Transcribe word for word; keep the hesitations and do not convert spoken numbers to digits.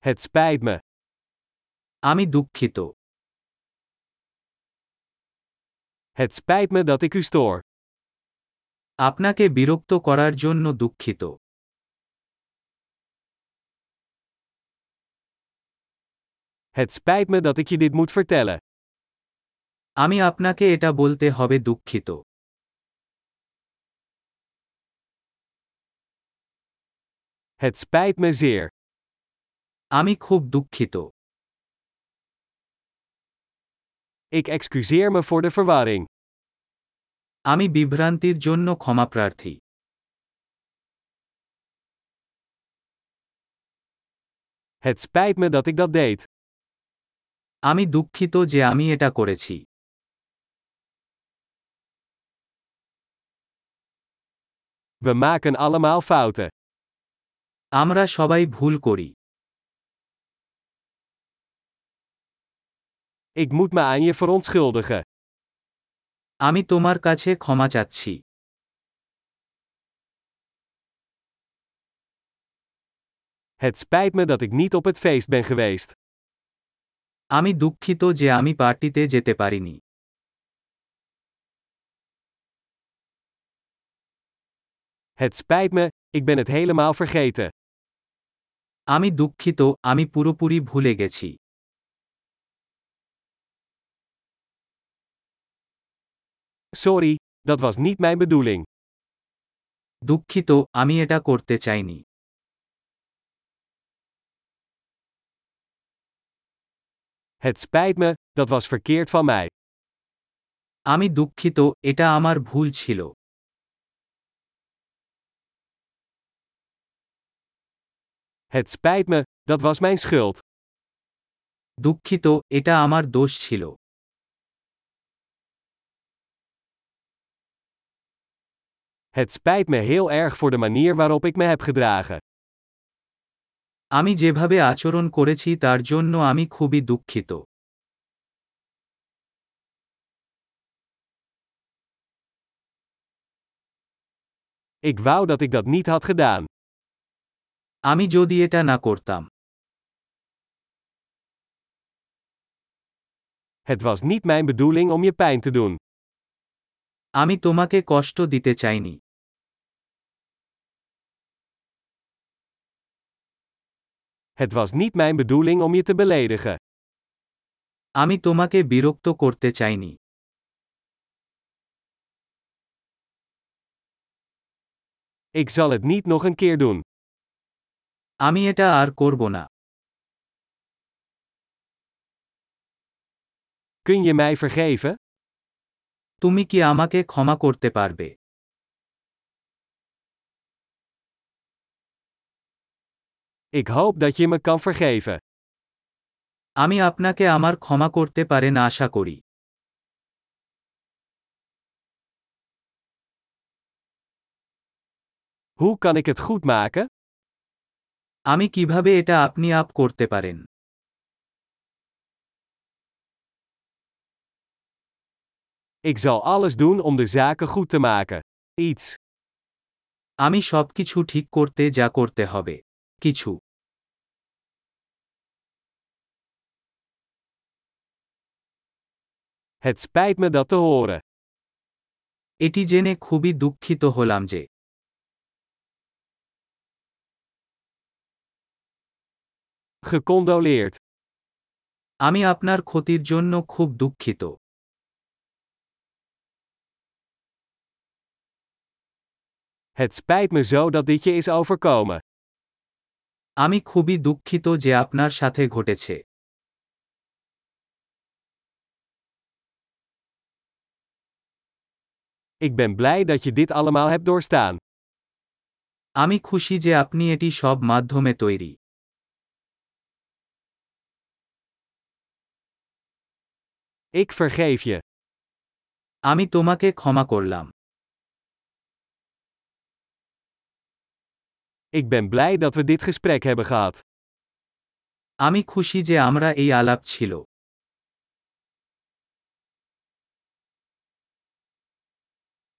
Het spijt me. আমি দুঃখিত। Het spijt me dat ik u stoor. আপনাকে বিরক্ত করার জন্য দুঃখিত। Het spijt me dat ik je dit moet vertellen. আমি আপনাকে এটা বলতে হবে দুঃখিত। Het spijt me zeer. আমি খুব দুঃখিত। Ik excuseer me voor de verwarring. আমি বিভ্রান্তির জন্য ক্ষমাপ্রার্থী। Het spijt me dat ik dat deed. আমি দুঃখিত যে আমি এটা করেছি। We maken allemaal fouten. আমরা সবাই ভুল করি। Ik moet me aan je verontschuldigen. আমি তোমার কাছে ক্ষমা চাচ্ছি। Het spijt me dat ik niet op het feest ben geweest. আমি দুঃখিত যে আমি পার্টিতে যেতে পারিনি। Het spijt me, ik ben het helemaal vergeten. আমি দুঃখিত, আমি পুরোপুরি ভুলে গেছি। Sorry, dat was niet mijn bedoeling. দুঃখিত, আমি এটা করতে চাইনি। Het spijt me, dat was verkeerd van mij. আমি দুঃখিত, এটা আমার ভুল ছিল। Het spijt me, dat was mijn schuld. দুঃখিত, এটা আমার দোষ ছিল। Het spijt me heel erg voor de manier waarop ik me heb gedragen. আমি যেভাবে আচরণ করেছি তার জন্য আমি খুবই দুঃখিত। Ik wou dat ik dat niet had gedaan. আমি যদি এটা না করতাম। Het was niet mijn bedoeling om je pijn te doen. আমি তোমাকে কষ্ট দিতে চাইনি। Het was niet mijn bedoeling om je te beledigen. আমি তোমাকে বিরক্ত করতে চাইনি। Ik zal het niet nog een keer doen. আমি এটা আর করব না। Kun je mij vergeven? তুমি কি আমাকে ক্ষমা করতে পারবে? Ik hoop dat je me kan vergeven. আমি আপনাকে আমার ক্ষমা করতে পারেন আশা করি। Hoe kan ik het goed maken? আমি কিভাবে এটা আপনি আপ করতে পারেন? Ik zal alles doen om de zaken goed te maken. Iets. আমি সবকিছু ঠিক করতে যা করতে হবে। কিছু। Het spijt me dat te horen. এটি জেনে খুবই দুঃখিত হলাম যে। Gecondoleerd. আমি আপনার ক্ষতির জন্য খুব দুঃখিত। Het spijt me zo dat dit je is overkomen. আমি খুবই দুঃখিত যে আপনার সাথে ঘটেছে। Ik ben blij dat je dit allemaal hebt doorstaan. আমি খুশি যে আপনি এটি সব মাধ্যমে তৈরি। Ik vergeef je. আমি তোমাকে ক্ষমা করলাম। Ik ben blij dat we dit gesprek hebben gehad. আমি খুশি যে আমরা এই আলাপ ছিল।